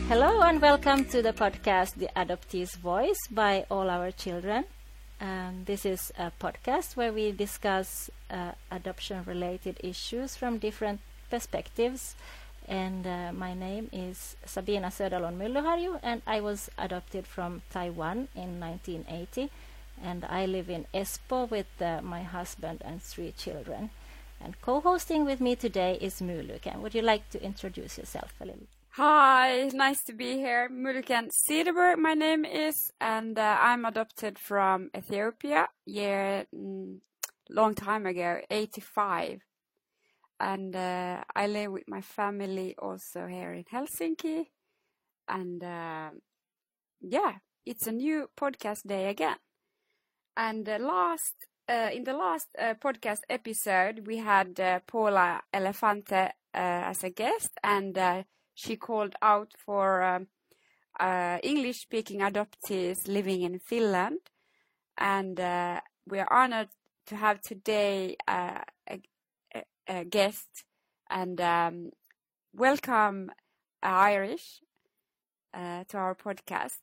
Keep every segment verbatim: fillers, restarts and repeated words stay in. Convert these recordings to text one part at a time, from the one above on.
Hello and welcome to the podcast The Adoptee's Voice by All Our Children. Um, this is a podcast where we discuss uh, adoption-related issues from different perspectives. And uh, my name is Sabina Söderlund Myllyharju, and I was adopted from Taiwan in nineteen eighty. And I live in Espoo with uh, my husband and three children. And co-hosting with me today is Muluken. Would you like to introduce yourself a little? Hi, nice to be here. Muluken Cederberg, my name is, and uh, I'm adopted from Ethiopia, yeah, mm, long time ago, eighty-five. And uh, I live with my family also here in Helsinki. And uh, yeah, it's a new podcast day again. And uh, last, uh, in the last uh, podcast episode, we had uh, Paula Elefante uh, as a guest, and uh, she called out for um, uh, English-speaking adoptees living in Finland. And uh, we are honored to have today uh, a, a, a guest. And um, welcome, uh, Irish, uh, to our podcast.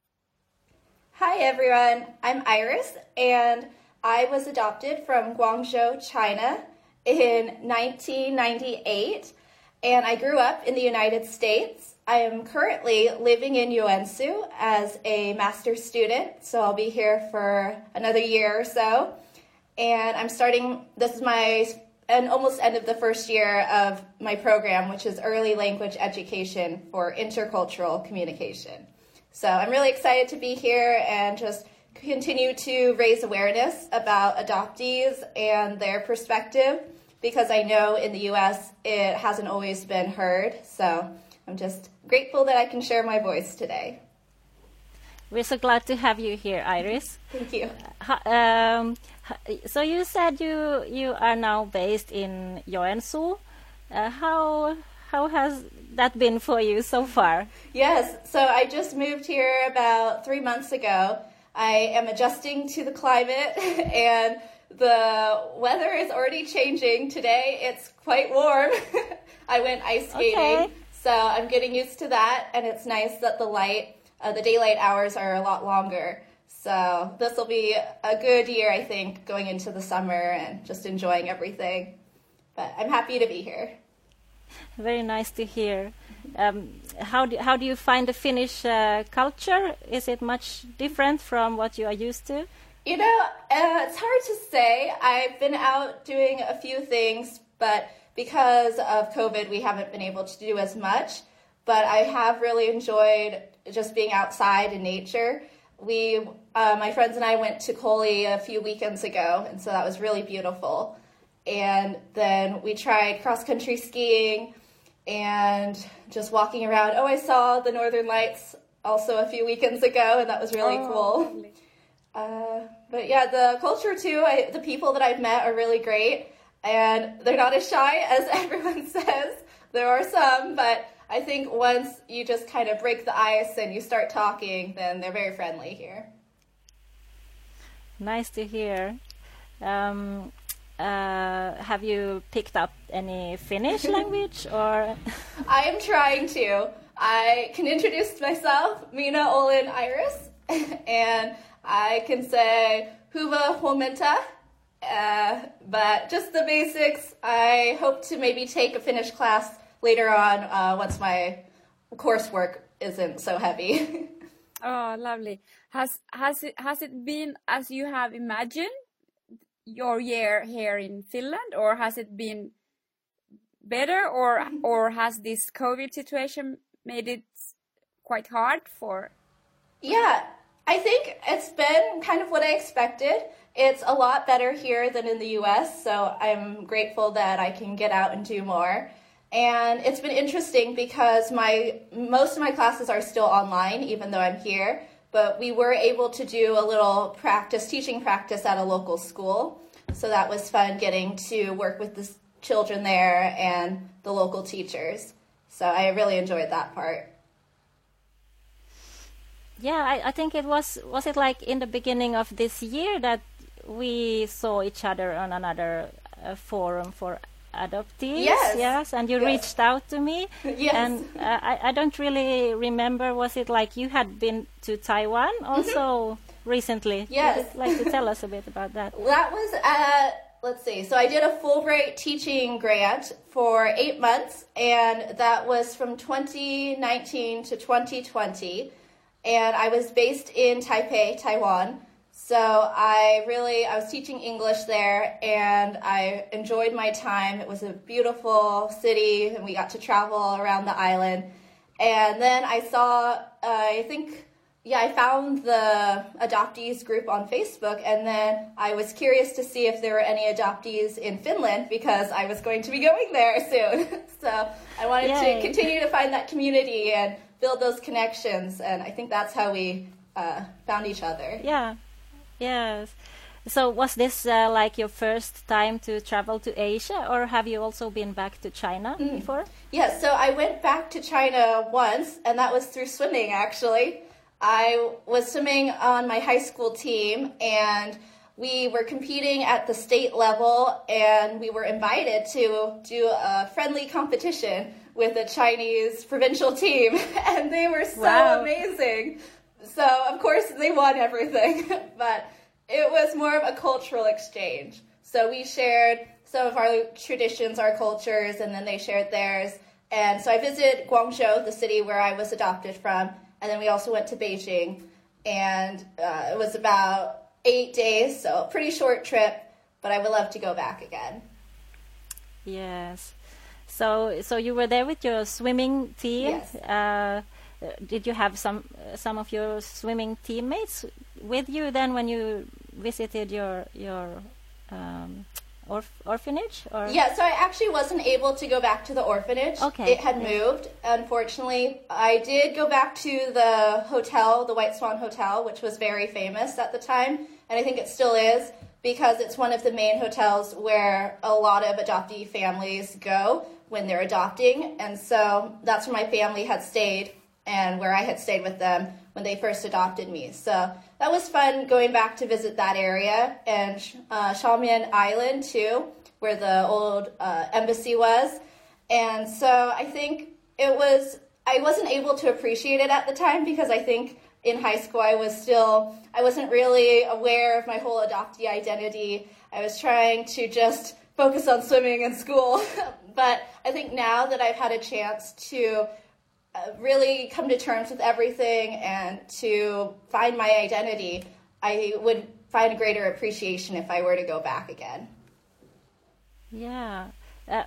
Hi, everyone. I'm Iris, and I was adopted from Guangzhou, China in nineteen ninety-eight. And I grew up in the United States. I am currently living in Joensuu as a master's student, so I'll be here for another year or so. And I'm starting, this is my and almost end of the first year of my program, which is Early Language Education for Intercultural Communication. So I'm really excited to be here and just continue to raise awareness about adoptees and their perspective, because I know in the U S it hasn't always been heard. So I'm just grateful that I can share my voice today. We're so glad to have you here, Iris. Thank you. Uh, um, so you said you you are now based in Joensuu. Uh, how how has that been for you so far? Yes, so I just moved here about three months ago. I am adjusting to the climate and the weather is already changing. Today it's quite warm. I went ice skating, okay. So I'm getting used to that, and it's nice that the light, uh, the daylight hours are a lot longer. So this will be a good year, I think, going into the summer and just enjoying everything. But I'm happy to be here. Very nice to hear. Um, how do how do you find the Finnish uh, culture? Is it much different from what you are used to? You know, uh, it's hard to say. I've been out doing a few things, but because of COVID, we haven't been able to do as much. But I have really enjoyed just being outside in nature. We, uh, my friends and I went to Koli a few weekends ago, and so that was really beautiful. And then we tried cross-country skiing and just walking around. Oh, I saw the Northern Lights also a few weekends ago, and that was really oh, cool. Lovely. Uh, but yeah, the culture too, I, the people that I've met are really great, and they're not as shy as everyone says. There are some, but I think once you just kind of break the ice and you start talking, then they're very friendly here. Nice to hear. Um, uh, have you picked up any Finnish language or? I am trying to. I can introduce myself, Minä olen Iris, and I can say Hyvää huomenta, uh, but just the basics. I hope to maybe take a Finnish class later on uh, once my coursework isn't so heavy. Oh, lovely. Has has it has it been as you have imagined your year here in Finland, or has it been better, or or has this COVID situation made it quite hard for? Yeah. I think it's been kind of what I expected. It's a lot better here than in the U S, so I'm grateful that I can get out and do more. And it's been interesting because my most of my classes are still online, even though I'm here. But we were able to do a little practice, teaching practice at a local school. So that was fun, getting to work with the children there and the local teachers. So I really enjoyed that part. Yeah, I, I think it was, was it like in the beginning of this year that we saw each other on another uh, forum for adoptees. Yes. Yes, and you Yes. reached out to me. Yes. And uh, I, I don't really remember, was it like you had been to Taiwan also mm-hmm. recently? Yes. Would you like to tell us a bit about that? That was at, let's see, so I did a Fulbright teaching grant for eight months, and that was from twenty nineteen to twenty twenty, and I was based in Taipei, Taiwan. So I really, I was teaching English there, and I enjoyed my time. It was a beautiful city, and we got to travel around the island. And then I saw, uh, I think, yeah, I found the adoptees group on Facebook, and then I was curious to see if there were any adoptees in Finland, because I was going to be going there soon. So I wanted Yay. to continue to find that community and build those connections, and I think that's how we uh, found each other. Yeah. Yes. So was this uh, like your first time to travel to Asia, or have you also been back to China mm. before? Yes, so I went back to China once, and that was through swimming, actually. I was swimming on my high school team, and we were competing at the state level, and we were invited to do a friendly competition with a Chinese provincial team, and they were so wow. amazing. So, of course, they won everything, but it was more of a cultural exchange. So we shared some of our traditions, our cultures, and then they shared theirs. And so I visited Guangzhou, the city where I was adopted from, and then we also went to Beijing. And uh, it was about eight days, so a pretty short trip, but I would love to go back again. Yes. So, so you were there with your swimming team? Yes. Uh, Did you have some uh, some of your swimming teammates with you then when you visited your your um, orf orphanage? Or? Yeah, so I actually wasn't able to go back to the orphanage. Okay. It had moved, unfortunately. I did go back to the hotel, the White Swan Hotel, which was very famous at the time, and I think it still is, because it's one of the main hotels where a lot of adoptee families go when they're adopting, and so that's where my family had stayed and where I had stayed with them when they first adopted me. So that was fun going back to visit that area, and uh, Xiamen Island too, where the old uh, embassy was. And so I think it was, I wasn't able to appreciate it at the time, because I think in high school I was still, I wasn't really aware of my whole adoptee identity. I was trying to just focus on swimming and school. But I think now that I've had a chance to Uh, really come to terms with everything and to find my identity, I would find a greater appreciation if I were to go back again. Yeah. Uh,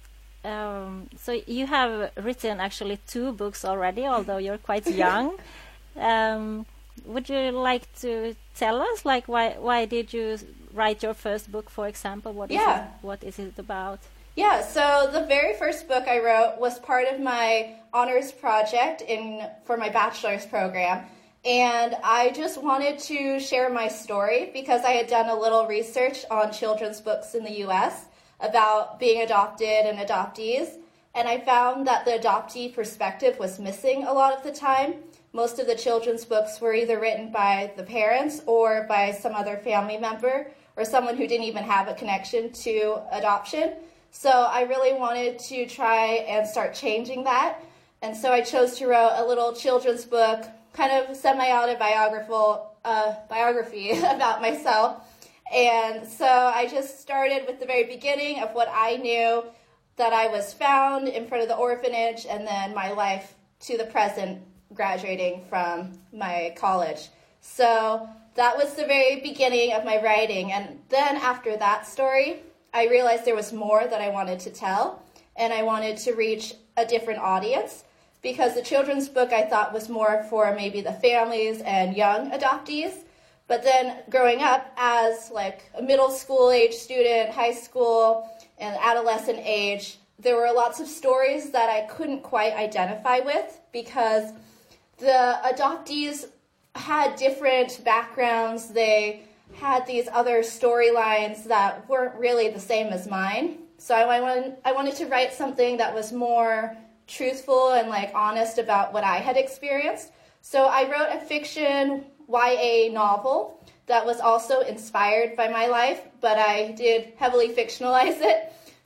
um, so you have written actually two books already, although you're quite young. um, would you like to tell us, like, why why did you write your first book, for example? What yeah. is it, what is it about? Yeah, so the very first book I wrote was part of my honors project in for my bachelor's program, and I just wanted to share my story because I had done a little research on children's books in the U S about being adopted and adoptees, and I found that the adoptee perspective was missing a lot of the time. Most of the children's books were either written by the parents or by some other family member or someone who didn't even have a connection to adoption. So I really wanted to try and start changing that. And so I chose to write a little children's book, kind of semi-autobiographical uh, biography about myself. And so I just started with the very beginning of what I knew, that I was found in front of the orphanage, and then my life to the present, graduating from my college. So that was the very beginning of my writing. And then after that story, I realized there was more that I wanted to tell, and I wanted to reach a different audience, because the children's book I thought was more for maybe the families and young adoptees. But then growing up as like a middle school age student, high school, and adolescent age, there were lots of stories that I couldn't quite identify with, because the adoptees had different backgrounds. They had these other storylines that weren't really the same as mine. So I wanted, I wanted to write something that was more truthful and like honest about what I had experienced. So I wrote a fiction Y A novel that was also inspired by my life, but I did heavily fictionalize it.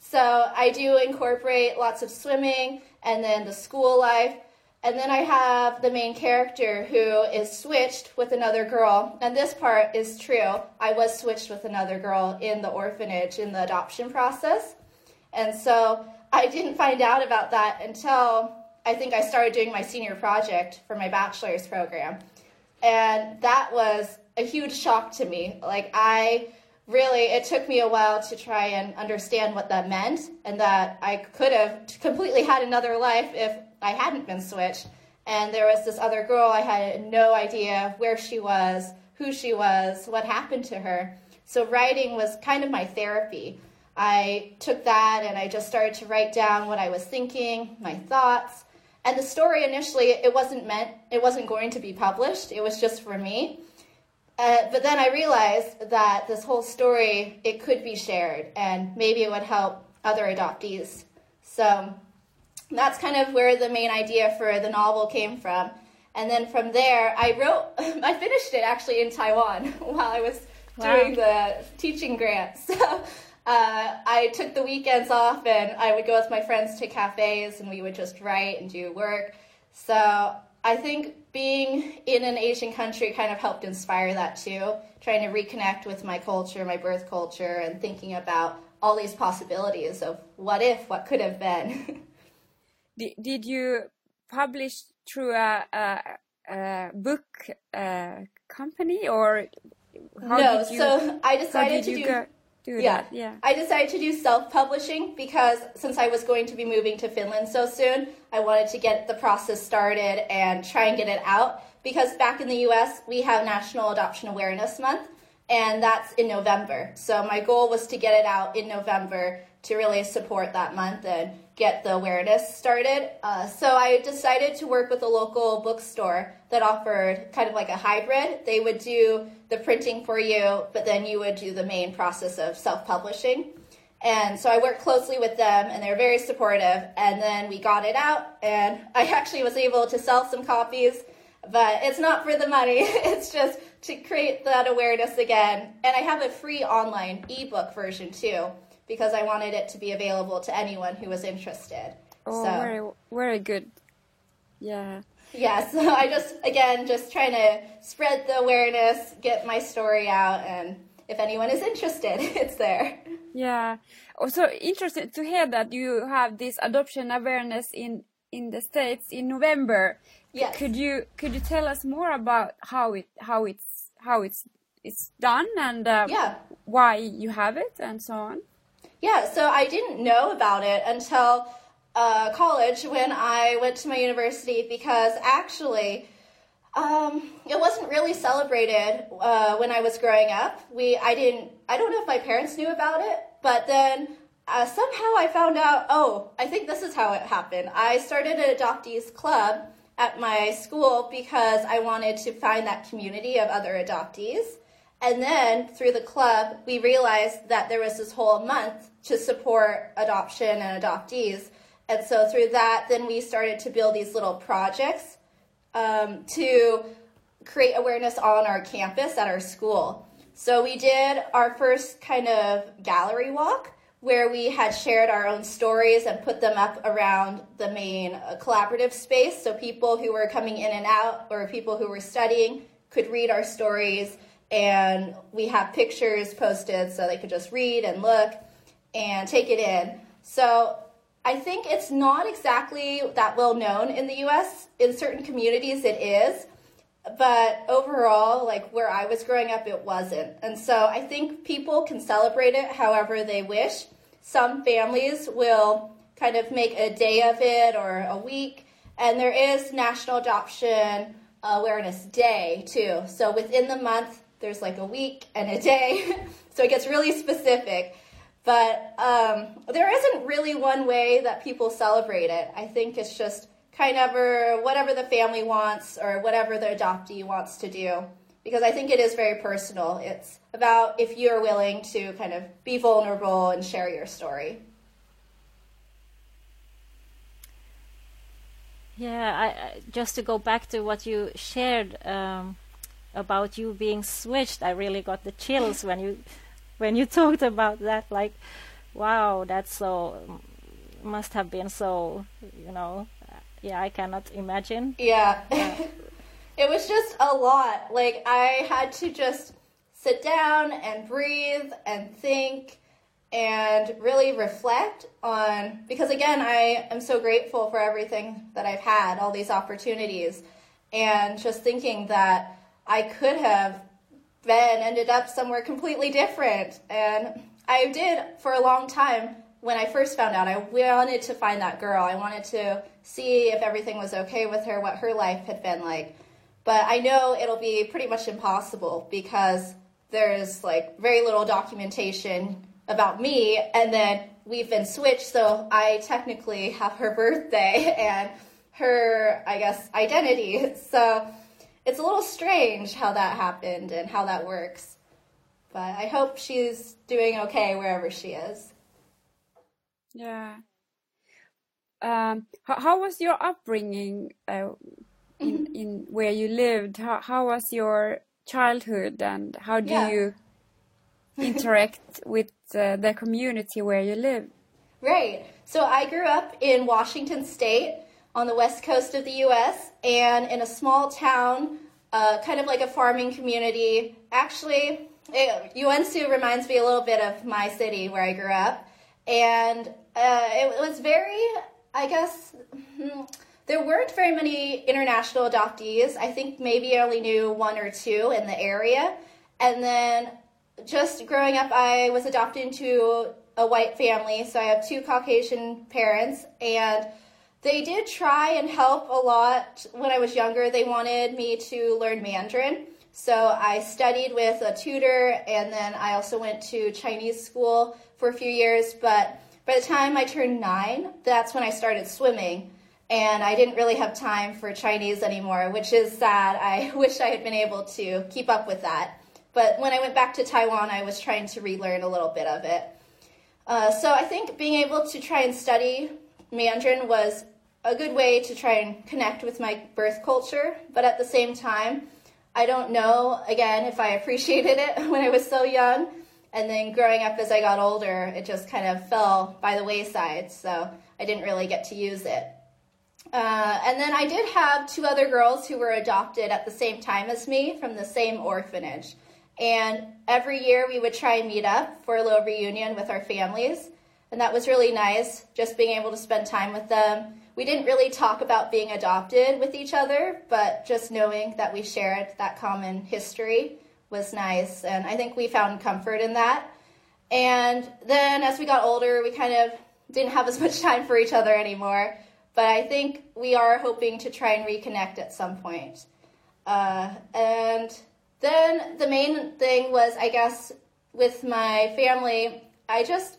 So I do incorporate lots of swimming and then the school life. And then I have the main character who is switched with another girl. And this part is true. I was switched with another girl in the orphanage in the adoption process. And so I didn't find out about that until I think I started doing my senior project for my bachelor's program. And that was a huge shock to me. Like I really, it took me a while to try and understand what that meant, and that I could have completely had another life if I hadn't been switched. And there was this other girl, I had no idea where she was, who she was, what happened to her. So writing was kind of my therapy. I took that and I just started to write down what I was thinking, my thoughts. And the story initially, it wasn't meant, it wasn't going to be published. It was just for me. Uh, but then I realized that this whole story, it could be shared, and maybe it would help other adoptees. So that's kind of where the main idea for the novel came from. And then from there, I wrote, I finished it actually in Taiwan while I was wow. doing the teaching grant. So uh, I took the weekends off, and I would go with my friends to cafes, and we would just write and do work. So I think being in an Asian country kind of helped inspire that too, trying to reconnect with my culture, my birth culture, and thinking about all these possibilities of what if, what could have been. Did, did you publish through a, a, a book uh, company, or how no? Did you, so I decided to do. Go, do yeah, that? yeah. I decided to do self-publishing because since I was going to be moving to Finland so soon, I wanted to get the process started and try and get it out. Because back in the U S, we have National Adoption Awareness Month, and that's in November. So my goal was to get it out in November to really support that month and get the awareness started. Uh, so I decided to work with a local bookstore that offered kind of like a hybrid. They would do the printing for you, but then you would do the main process of self-publishing. And so I worked closely with them, and they're very supportive. And then we got it out, and I actually was able to sell some copies, but it's not for the money. It's just to create that awareness again. And I have a free online ebook version too, because I wanted it to be available to anyone who was interested. Oh, so, very, very good. Yeah. Yeah, so I just, again, just trying to spread the awareness, get my story out, and if anyone is interested, it's there. Yeah. Also interested to hear that you have this adoption awareness in, in the States in November. Yes. Could you could you tell us more about how it how it's how it's it's done and uh, yeah. why you have it and so on? Yeah, so I didn't know about it until uh, college when I went to my university, because actually um, it wasn't really celebrated uh, when I was growing up. We I didn't I don't know if my parents knew about it, but then uh, somehow I found out. Oh, I think this is how it happened. I started an adoptees club at my school because I wanted to find that community of other adoptees. And then through the club, we realized that there was this whole month to support adoption and adoptees. And so through that, then we started to build these little projects um, to create awareness on our campus at our school. So we did our first kind of gallery walk, where we had shared our own stories and put them up around the main uh, collaborative space, so people who were coming in and out or people who were studying could read our stories, and we have pictures posted so they could just read and look and take it in. So I think it's not exactly that well known in the U S. In certain communities it is, but overall, like where I was growing up, it wasn't. And so I think people can celebrate it however they wish. Some families will kind of make a day of it or a week. And there is National Adoption Awareness Day too. So within the month, there's like a week and a day. So it gets really specific. But um, there isn't really one way that people celebrate it. I think it's just kind of whatever the family wants or whatever the adoptee wants to do, because I think it is very personal. It's about if you're willing to kind of be vulnerable and share your story. Yeah, I, I, just to go back to what you shared um, about you being switched, I really got the chills when you when you talked about that. Like, Wow, that's so, must have been so, you know, uh, yeah, I cannot imagine. Yeah. Yeah. It was just a lot. Like, I had to just sit down and breathe and think and really reflect on, because again, I am so grateful for everything that I've had, all these opportunities, and just thinking that I could have been, ended up somewhere completely different. And I did for a long time. When I first found out, I wanted to find that girl. I wanted to see if everything was okay with her, what her life had been like. But I know it'll be pretty much impossible because there's like very little documentation about me, and then we've been switched, so I technically have her birthday and her, I guess, identity. So it's a little strange how that happened and how that works. But I hope she's doing okay wherever she is. Yeah. Um, how, how was your upbringing uh, in in where you lived? How how was your childhood, and how do Yeah. you interact with uh, the community where you live? Right. So I grew up in Washington State on the west coast of the U S and in a small town, uh, kind of like a farming community. Actually, it, Uensu reminds me a little bit of my city where I grew up. And uh, it was very, I guess, hmm, there weren't very many international adoptees. I think maybe I only knew one or two in the area. And then just growing up, I was adopted into a white family, so I have two Caucasian parents, and they did try and help a lot when I was younger. They wanted me to learn Mandarin, so I studied with a tutor, and then I also went to Chinese school for a few years, but by the time I turned nine, that's when I started swimming, and I didn't really have time for Chinese anymore, which is sad. I wish I had been able to keep up with that. But when I went back to Taiwan, I was trying to relearn a little bit of it. Uh, so I think being able to try and study Mandarin was a good way to try and connect with my birth culture. But at the same time, I don't know, again, if I appreciated it when I was so young. And then growing up as I got older, it just kind of fell by the wayside. So I didn't really get to use it. Uh, and then I did have two other girls who were adopted at the same time as me from the same orphanage. And every year we would try and meet up for a little reunion with our families. And that was really nice, just being able to spend time with them. We didn't really talk about being adopted with each other, but just knowing that we shared that common history was nice. And I think we found comfort in that. And then as we got older, we kind of didn't have as much time for each other anymore. But I think we are hoping to try and reconnect at some point. Uh, and then the main thing was, I guess, with my family, I just,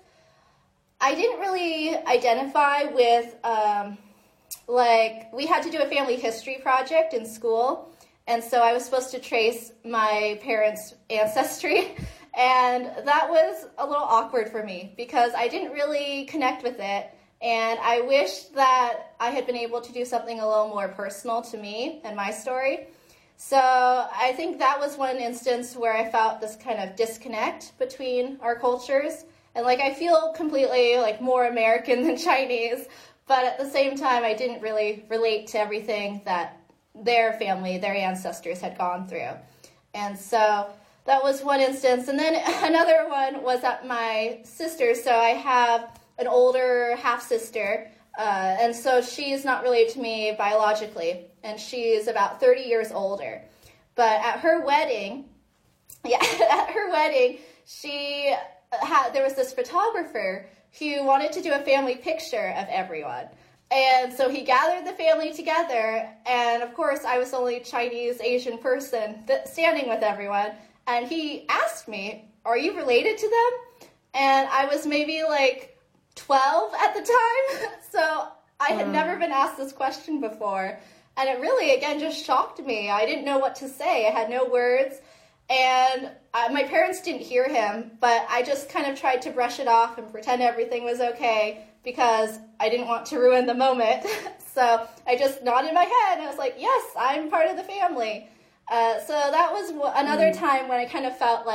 I didn't really identify with, um, like, we had to do a family history project in school, and so I was supposed to trace my parents' ancestry, and that was a little awkward for me, because I didn't really connect with it, and I wish that I had been able to do something a little more personal to me and my story. So I think that was one instance where I felt this kind of disconnect between our cultures. And like I feel completely like more American than Chinese, but at the same time I didn't really relate to everything that their family, their ancestors had gone through. And so that was one instance. And then another one was at my sister's. So I have an older half-sister, uh, and so she's not related to me biologically, and she's about thirty years older. But at her wedding, yeah, at her wedding, she had, there was this photographer who wanted to do a family picture of everyone. And so he gathered the family together, and of course I was the only Chinese Asian person th- standing with everyone, and he asked me, "Are you related to them?" And I was maybe like twelve at the time, so I had uh. never been asked this question before, and it really, again, just shocked me. I didn't know what to say. I had no words, and uh, my parents didn't hear him, but I just kind of tried to brush it off and pretend everything was okay, because I didn't want to ruin the moment. So I just nodded my head, and I was like, yes, I'm part of the family. Uh, so that was w- another mm. time when I kind of felt like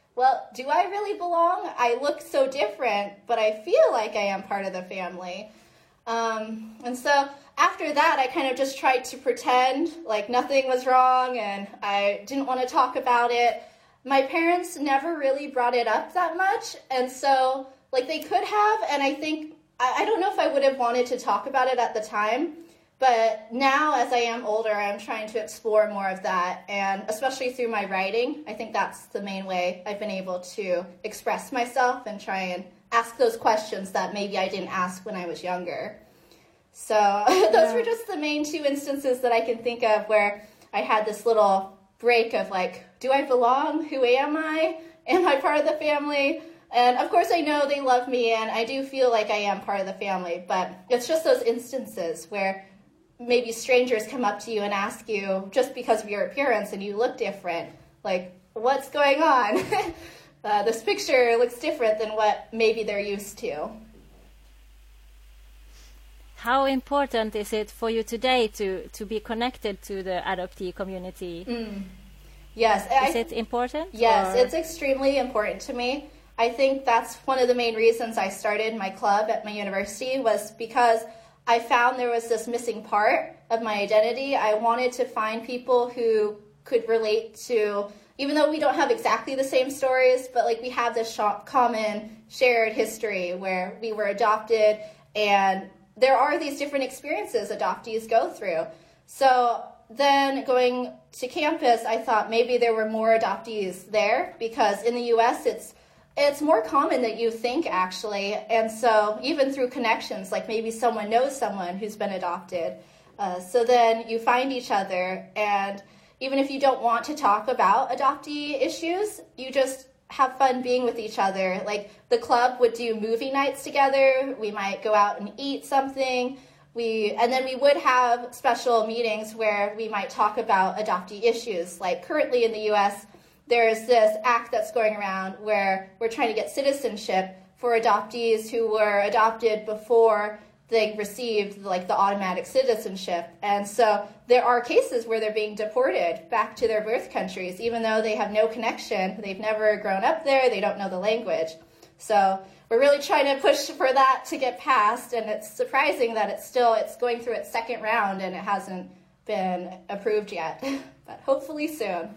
well, do I really belong? I look so different, but I feel like I am part of the family. Um, and so after that, I kind of just tried to pretend like nothing was wrong and I didn't want to talk about it. My parents never really brought it up that much. And so like they could have, and I think, I, I don't know if I would have wanted to talk about it at the time, but now as I am older, I'm trying to explore more of that. And especially through my writing, I think that's the main way I've been able to express myself and try and ask those questions that maybe I didn't ask when I was younger. So those yeah. were just the main two instances that I can think of where I had this little break of like, do I belong? Who am I? Am I part of the family? And of course I know they love me and I do feel like I am part of the family, but it's just those instances where maybe strangers come up to you and ask you just because of your appearance and you look different, like, what's going on? uh, this picture looks different than what maybe they're used to. How important is it for you today to, to be connected to the adoptee community? Mm. Yes. Is I, it important? Yes, or? It's extremely important to me. I think that's one of the main reasons I started my club at my university was because I found there was this missing part of my identity. I wanted to find people who could relate to, even though we don't have exactly the same stories, but like we have this sh- common shared history where we were adopted and there are these different experiences adoptees go through. So then going to campus, I thought maybe there were more adoptees there because in the U S it's It's more common than you think, actually. And so even through connections, like maybe someone knows someone who's been adopted. Uh, so then you find each other. And even if you don't want to talk about adoptee issues, you just have fun being with each other. Like the club would do movie nights together. We might go out and eat something. We and then we would have special meetings where we might talk about adoptee issues. Like currently in the U S, there's this act that's going around where we're trying to get citizenship for adoptees who were adopted before they received like the automatic citizenship. And so there are cases where they're being deported back to their birth countries, even though they have no connection. They've never grown up there. They don't know the language. So we're really trying to push for that to get passed. And it's surprising that it's still, it's going through its second round and it hasn't been approved yet, but hopefully soon.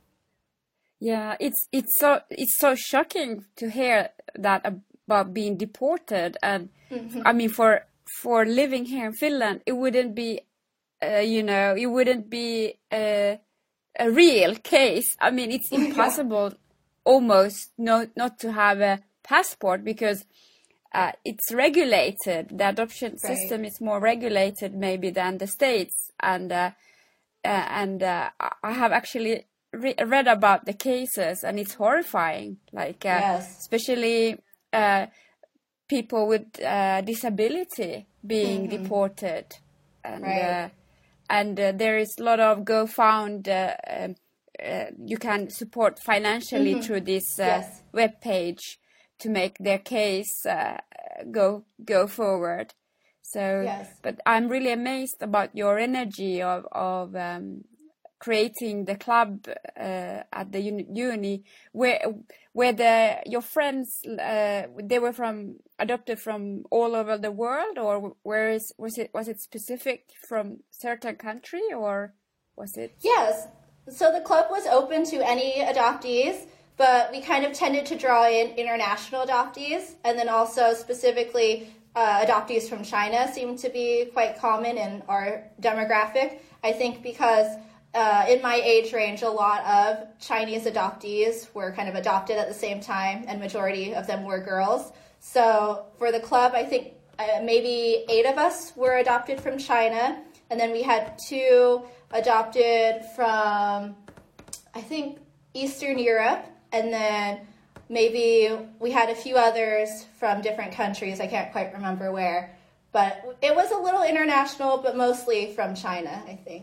Yeah, it's it's so it's so shocking to hear that about being deported, and mm-hmm. I mean for for living here in Finland, it wouldn't be, uh, you know, it wouldn't be a, a real case. I mean, it's impossible, almost not not to have a passport because uh, it's regulated. The adoption right. system is more regulated maybe than the States, and uh, uh, and uh, I have actually. Re- read about the cases and it's horrifying, like uh, yes. especially uh, people with uh, disability being mm-hmm. deported, and right. uh, and uh, there is a lot of GoFound. Uh, uh, uh, you can support financially mm-hmm. through this uh, yes. web page to make their case uh, go go forward. So, yes. but I'm really amazed about your energy of of. Um, creating the club uh, at the uni, uni where where the your friends uh, they were from adopted from all over the world, or where is was it was it specific from certain country, or was it? Yes, so the club was open to any adoptees, but we kind of tended to draw in international adoptees, and then also specifically uh, adoptees from China seemed to be quite common in our demographic. I think because Uh, in my age range, a lot of Chinese adoptees were kind of adopted at the same time, and majority of them were girls. So for the club, I think uh, maybe eight of us were adopted from China, and then we had two adopted from, I think, Eastern Europe, and then maybe we had a few others from different countries. I can't quite remember where, but it was a little international, but mostly from China, I think.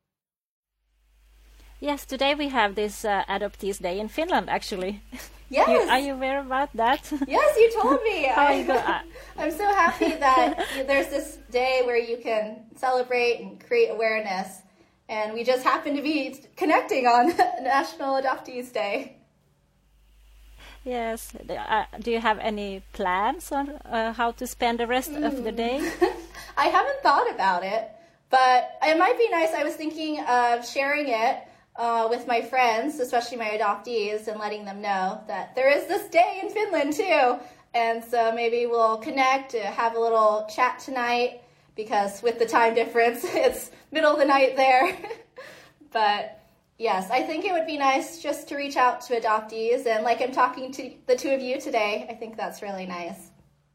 Yes, today we have this uh, Adoptees Day in Finland, actually. Yes. You, are you aware about that? Yes, you told me. How I, you go, uh, I'm so happy that there's this day where you can celebrate and create awareness. And we just happen to be connecting on National Adoptees Day. Yes. Uh, do you have any plans on uh, how to spend the rest mm. of the day? I haven't thought about it, but it might be nice. I was thinking of sharing it uh, with my friends, especially my adoptees, and letting them know that there is this day in Finland too. And so maybe we'll connect, uh, have a little chat tonight, because with the time difference, it's middle of the night there. But yes, I think it would be nice just to reach out to adoptees. And like I'm talking to the two of you today, I think that's really nice.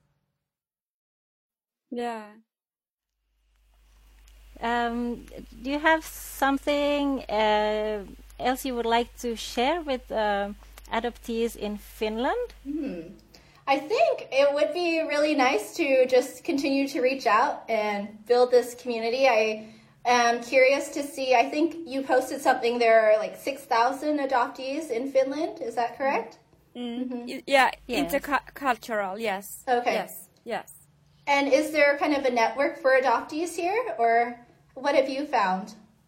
Yeah. Um, do you have something uh, else you would like to share with uh, adoptees in Finland? Hmm. I think it would be really nice to just continue to reach out and build this community. I am curious to see, I think you posted something, there are like six thousand adoptees in Finland, is that correct? Mm. Mm-hmm. Yeah, yes. Intercultural, yes. Okay. Yes, yes. And is there kind of a network for adoptees here, or what have you found?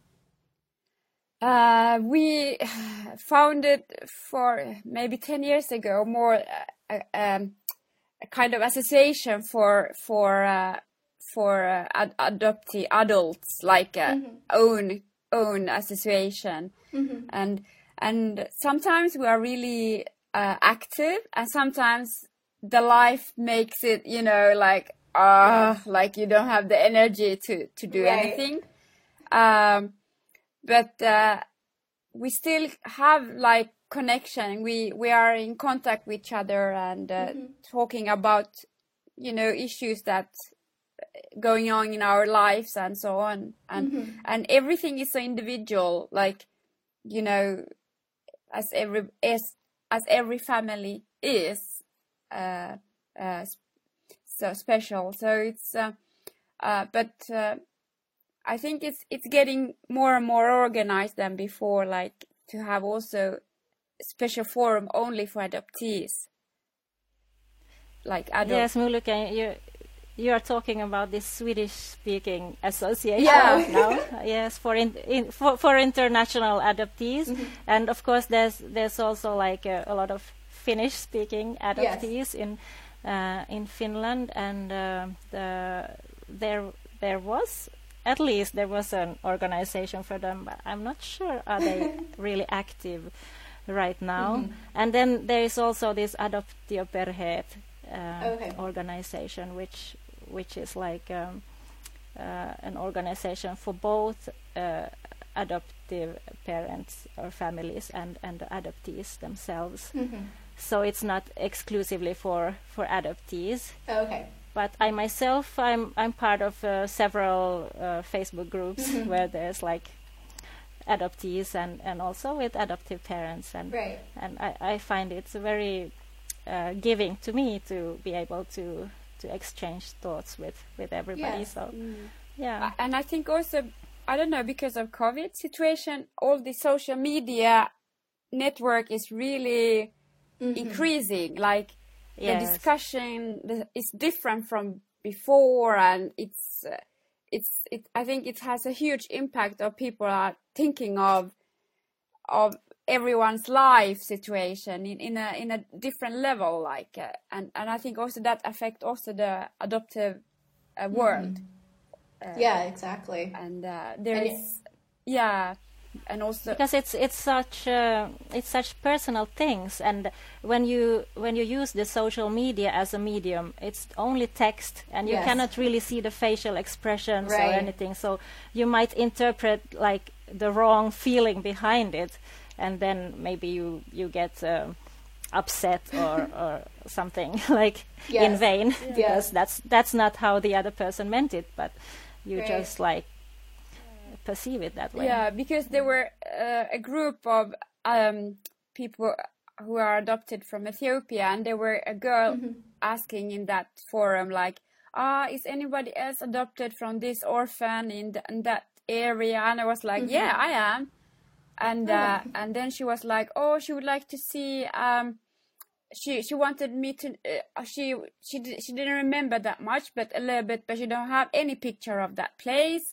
Uh, we found it for maybe ten years ago, more uh, um, a kind of association for for uh, for uh, ad adoptee adults, like a mm-hmm. own own association, mm-hmm. and and sometimes we are really uh, active, and sometimes the life makes it, you know, like ah, uh, like you don't have the energy to to do right. anything. Um, but uh, we still have like connection. We we are in contact with each other and uh, mm-hmm. talking about, you know, issues that going on in our lives and so on. And mm-hmm. and everything is so individual, like, you know, as every as as every family is uh, uh, so special. So it's uh, uh, but. Uh, I think it's it's getting more and more organized than before, like to have also a special forum only for adoptees. Like adult. Yes, Muluken, you you are talking about this Swedish-speaking association yeah. now. Yes, for in, in for for international adoptees, mm-hmm. and of course there's there's also like a, a lot of Finnish-speaking adoptees yes. in uh, in Finland, and uh, the there there was. At least there was an organization for them, but I'm not sure are they really active right now. Mm-hmm. And then there is also this Adoptioperheet uh, okay. organization, which which is like um, uh, an organization for both uh, adoptive parents or families and and the adoptees themselves. Mm-hmm. So it's not exclusively for for adoptees. Okay. But I myself, I'm I'm part of uh, several uh, Facebook groups mm-hmm. where there's like adoptees and, and also with adoptive parents, and right. and I, I find it's very uh, giving to me to be able to to exchange thoughts with, with everybody. Yes. So mm. yeah, and I think also, I don't know, because of COVID situation, all the social media network is really mm-hmm. increasing, like. Yes. The discussion is different from before, and it's uh, it's it. I think it has a huge impact of people are thinking of of everyone's life situation in, in a in a different level, like uh, and and I think also that affect also the adoptive uh, world. Mm-hmm. uh, yeah, exactly. And uh, there and is yeah. And also because it's it's such uh, it's such personal things, and when you when you use the social media as a medium, it's only text, and you yes. cannot really see the facial expressions right. or anything. So you might interpret like the wrong feeling behind it, and then maybe you you get uh, upset or or something like yes. in vain yeah. because that's that's not how the other person meant it, but you right. just like perceive it that way. Yeah, because there were uh, a group of um, people who are adopted from Ethiopia, and there were a girl mm-hmm. asking in that forum, like, ah, is anybody else adopted from this orphan in, the, in that area? And I was like, mm-hmm. yeah, I am. And uh, oh. and then she was like, oh, she would like to see. Um, she she wanted me to. Uh, she she she didn't remember that much, but a little bit. But she don't have any picture of that place.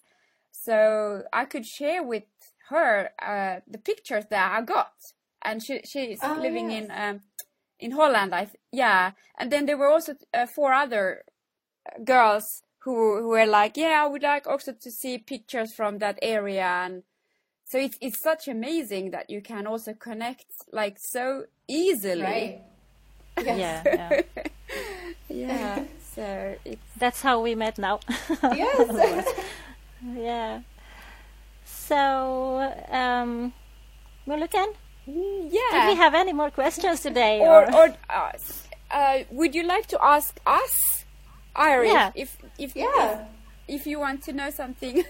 So I could share with her uh, the pictures that I got, and she she's oh, living yes. in um, in Holland. I th- yeah, and then there were also uh, four other girls who who were like, yeah, I would like also to see pictures from that area. And so it's it's such amazing that you can also connect like so easily. Right. Yes. Yeah. Yeah. Yeah. So it's that's how we met now. Yes. Yeah. So, um, Muluken, yeah. do we have any more questions today? Or Or, or uh, uh, would you like to ask us, Iris, Yeah. if if Yeah. if, if you want to know something?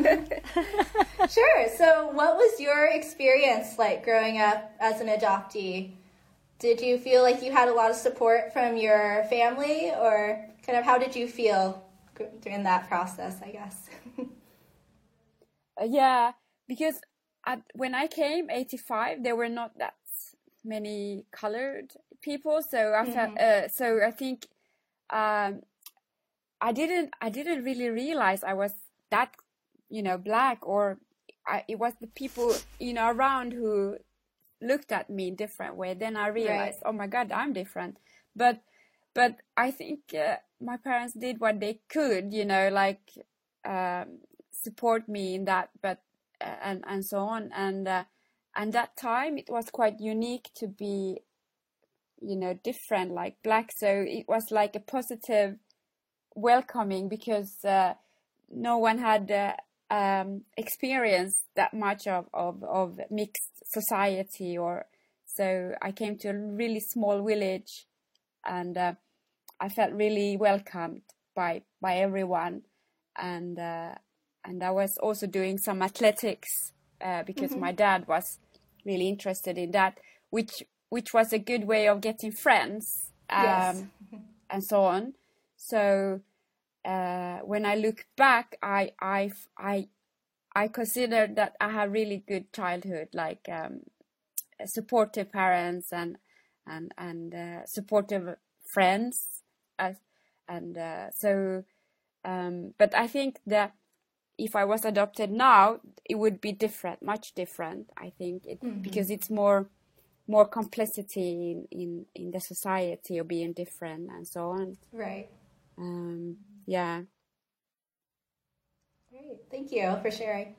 Sure. So, what was your experience like growing up as an adoptee? Did you feel like you had a lot of support from your family, or kind of how did you feel during that process, I guess? Uh, yeah, because at, when I came, eighty-five, there were not that many colored people. So I felt, Mm-hmm. uh, so I think um, I didn't I didn't really realize I was that, you know, black, or I, it was the people, you know, around who looked at me in different way. Then I realized, Right. oh my God, I'm different. But but I think uh, my parents did what they could, you know, like um, support me in that, but uh, and and so on. And uh, and that time it was quite unique to be, you know, different, like black. So it was like a positive welcoming, because uh, no one had uh, um, experienced that much of, of, of mixed society. Or so I came to a really small village, and uh, I felt really welcomed by by everyone. And uh, and I was also doing some athletics uh, because Mm-hmm. my dad was really interested in that, which which was a good way of getting friends, um, Yes. and so on. So uh, when I look back, I I I I consider that I had really good childhood, like um, supportive parents and and and uh, supportive friends, uh, and uh, so. Um, but I think that if I was adopted now, it would be different, much different. I think it Mm-hmm. because it's more more complexity in, in, in the society of being different and so on. Right. Um, yeah. Great. Thank you for sharing.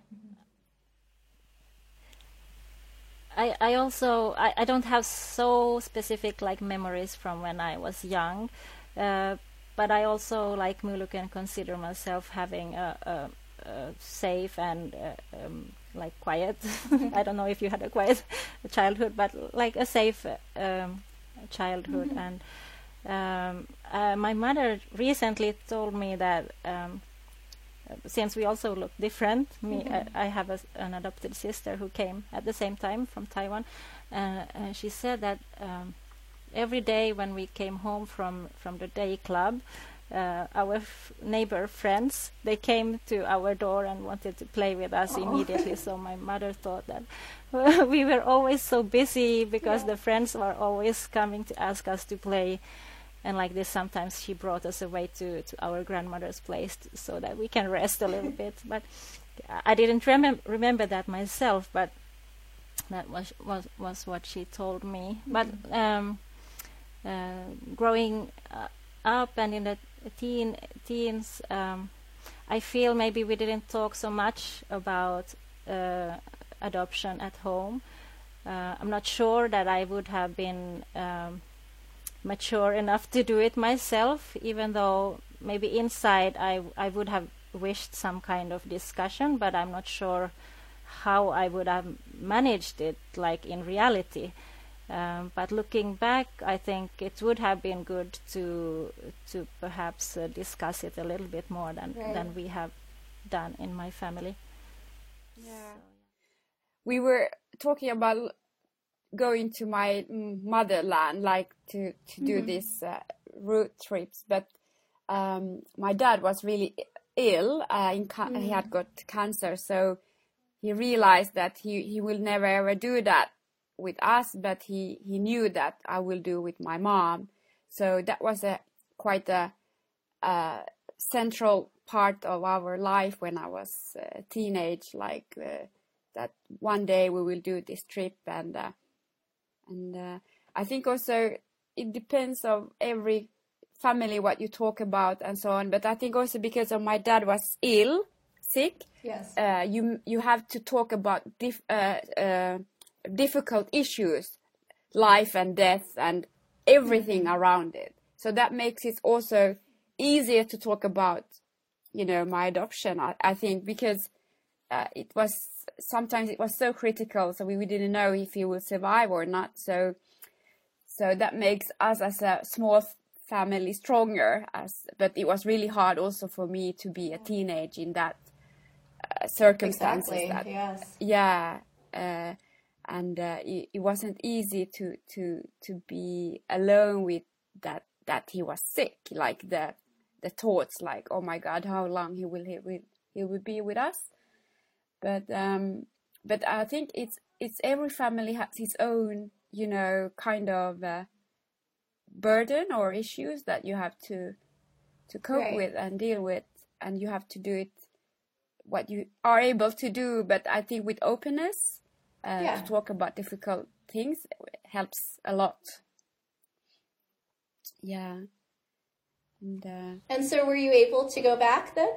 I, I also I, I don't have so specific like memories from when I was young, uh, but I also, like Muluken, consider myself having a, a, a safe and uh, um, like quiet. I don't know if you had a quiet childhood, but like a safe um, childhood. And um, uh, my mother recently told me that. Um, Since we also look different, me, Mhm. I, I have a, an adopted sister who came at the same time from Taiwan, uh, and she said that um, every day when we came home from from the day club, uh, our f- neighbor friends, they came to our door and wanted to play with us Aw. immediately. So my mother thought that we were always so busy because Yeah. the friends were always coming to ask us to play. And like this, sometimes she brought us away to, to our grandmother's place t- so that we can rest a little bit. But I didn't remem- remember that myself, but that was was, was what she told me. But um, uh, growing uh, up and in the teen teens, um, I feel maybe we didn't talk so much about uh, adoption at home. Uh, I'm not sure that I would have been Um, mature enough to do it myself, even though maybe inside I I would have wished some kind of discussion, but I'm not sure how I would have managed it like in reality. Um, but looking back, I think it would have been good to to perhaps uh, discuss it a little bit more than Right. than we have done in my family. Yeah. We were talking about going to my mm, motherland, like to, to do Mhm. these uh, road trips. But um, my dad was really i- ill. Uh, in ca- He had got cancer. So he realized that he, he will never ever do that with us, but he, he knew that I will do with my mom. So that was a quite a, a central part of our life when I was a teenage, like uh, that one day we will do this trip. And uh, and uh, I think also it depends on every family what you talk about and so on. But I think also because of my dad was ill, sick, Yes. uh, you you have to talk about dif- uh, uh, difficult issues, life and death and everything mm-hmm. around it. So that makes it also easier to talk about, you know, my adoption, I, I think, because uh, it was sometimes it was so critical, so we, we didn't know if he would survive or not. So so that makes us as a small family stronger. As but it was really hard also for me to be a teenage in that uh, circumstances. Exactly. That, yes. Yeah. Uh, and uh, it, it wasn't easy to to to be alone with that that he was sick, like the the thoughts like, oh my God, how long he will he will he will be with us. But um but I think it's it's every family has its own, you know, kind of uh, burden or issues that you have to to cope Right. with and deal with, and you have to do it what you are able to do. But I think with openness uh, Yeah. to talk about difficult things helps a lot. Yeah. And, uh, And so were you able to go back then?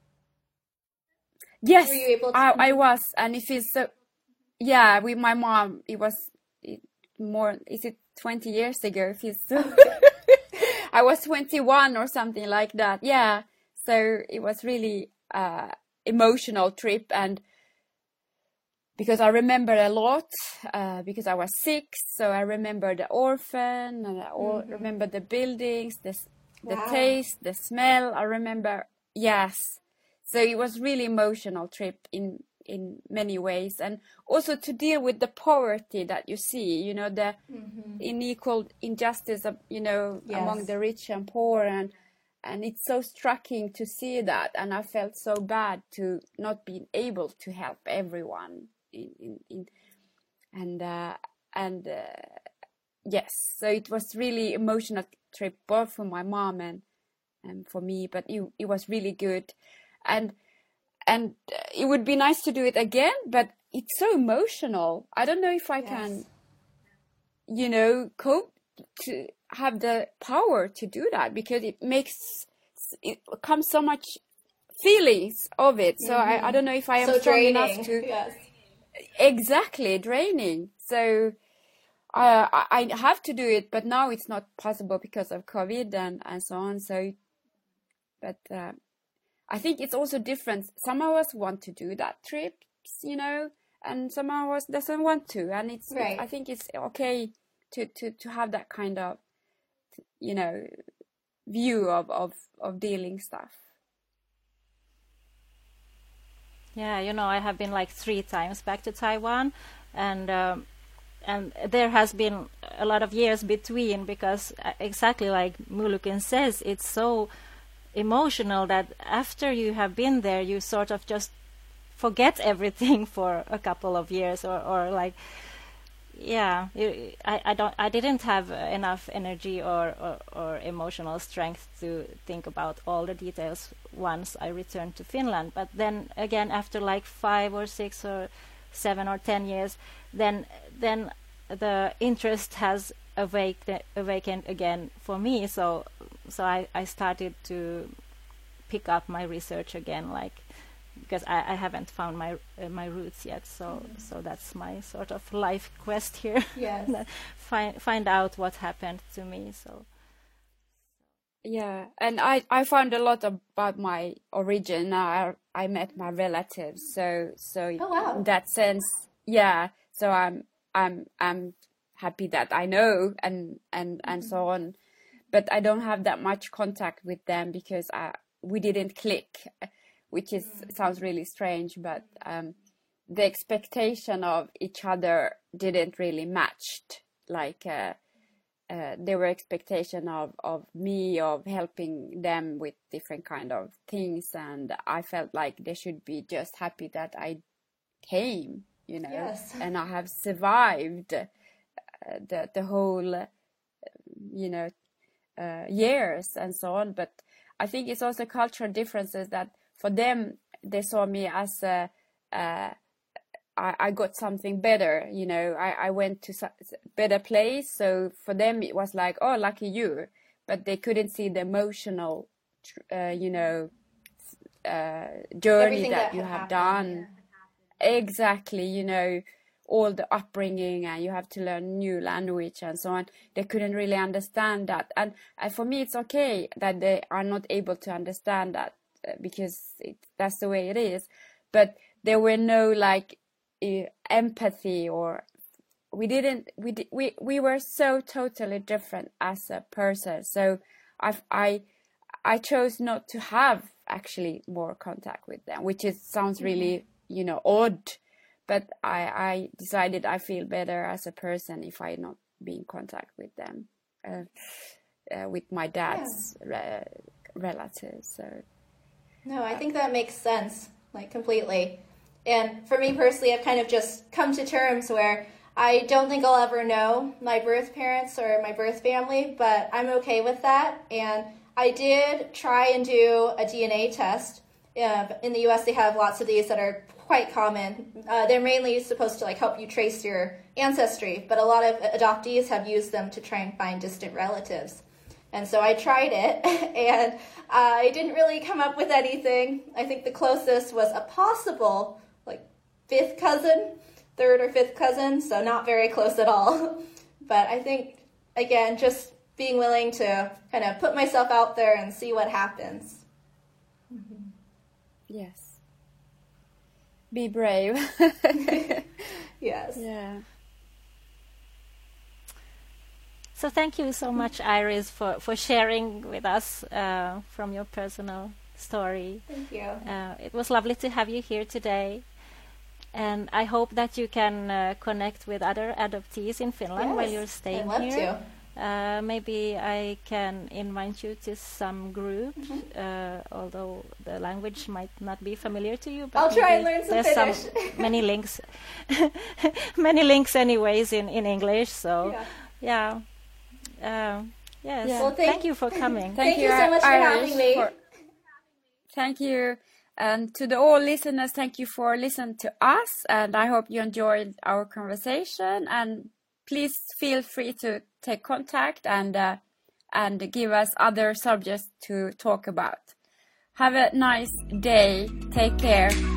yes, Were you able to? I, I was, and it feels so. Yeah, with my mom, it was it, more. Is it twenty years ago? It feels so. I was twenty-one or something like that. Yeah, so it was really uh, emotional trip, and because I remember a lot, uh, because I was six, so I remember the orphan, and I all Mm-hmm. remember the buildings, the the Wow. taste, the smell. I remember, yes. So it was really emotional trip in in many ways, and also to deal with the poverty that you see, you know, the Mm-hmm. unequal injustice of, you know, Yes. among the rich and poor, and and it's so striking to see that, and I felt so bad to not being able to help everyone in in, in and uh, and uh, yes, so it was really emotional trip both for my mom and and for me, but it it was really good, and and uh, it would be nice to do it again, but it's so emotional. I don't know if I Yes. can, you know, cope to have the power to do that, because it makes it comes so much feelings of it. So Mm-hmm. I, I don't know if I am So strong draining. enough to Yes. exactly draining. So uh, I I have to do it, but now it's not possible because of COVID and and so on. So, but uh, I think it's also different. Some of us want to do that trips, you know, and some of us doesn't want to, and it's, Right. it's I think it's okay to, to, to have that kind of, you know, view of, of, of dealing stuff. Yeah, you know, I have been like three times back to Taiwan, and um, and there has been a lot of years between, because uh, exactly like Mulukin says, it's so emotional that after you have been there, you sort of just forget everything for a couple of years, or, or like, yeah, you, I, I don't, I didn't have enough energy or, or, or emotional strength to think about all the details once I returned to Finland. But then again, after like five or six or seven or ten years, then then the interest has awake, awakened again for me. So so I, I started to pick up my research again, like, because I, I haven't found my uh, my roots yet. So mm-hmm. so that's my sort of life quest here. Yes. find find out what happened to me. So yeah, and I I found a lot about my origin. I I met my relatives. So so oh, wow. in that sense, yeah. So I'm I'm I'm happy that I know and and and mm-hmm. so on, but I don't have that much contact with them because I we didn't click, which is mm-hmm. sounds really strange, but um, the expectation of each other didn't really matched. Like uh, uh, there were expectation of of me of helping them with different kind of things, and I felt like they should be just happy that I came, you know, yes. and I have survived uh, the the whole, uh, you know, uh, years and so on. But I think it's also cultural differences that for them they saw me as a, a I, I got something better, you know, I, I went to a better place. So for them, it was like, oh, lucky you. But they couldn't see the emotional, uh, you know, uh, journey Everything that, that you had have happened, done. Exactly, you know, all the upbringing, and you have to learn new language and so on. They couldn't really understand that. And, and for me, it's okay that they are not able to understand that, uh, because it, that's the way it is. But there were no like uh, empathy, or we didn't, we, di- we, we were so totally different as a person. So I, I, I chose not to have actually more contact with them, which is, sounds really, you know, odd. But I, I decided I feel better as a person if I not be in contact with them, uh, uh, with my dad's yeah. re- relatives. So. No, I think that makes sense, like completely. And for me personally, I've kind of just come to terms where I don't think I'll ever know my birth parents or my birth family, but I'm okay with that. And I did try and do a D N A test. Uh, in the U S, they have lots of these that are quite common. Uh, they're mainly supposed to like help you trace your ancestry, but a lot of adoptees have used them to try and find distant relatives. And so I tried it, and I didn't really come up with anything. I think the closest was a possible like fifth cousin, third or fifth cousin, so not very close at all. But I think, again, just being willing to kind of put myself out there and see what happens. Mm-hmm. Yes. Be brave. Yes. Yeah. So thank you so much, Iris, for, for sharing with us uh, from your personal story. Thank you. Uh, it was lovely to have you here today. And I hope that you can uh, connect with other adoptees in Finland Yes, while you're staying I'd love here. To. Uh, maybe I can invite you to some group, Mm-hmm. uh, although the language might not be familiar to you. But I'll try and maybe learn some there's Finnish. some many links, many links, anyways, in, in English. So, yeah, yeah. Uh, yes. Yeah. Well, thank, thank- you for coming. Thank you so much for Iris, having me. for- thank you. And to the all listeners, thank you for listening to us. And I hope you enjoyed our conversation. And please feel free to take contact and uh, and give us other subjects to talk about. Have a nice day. Take care.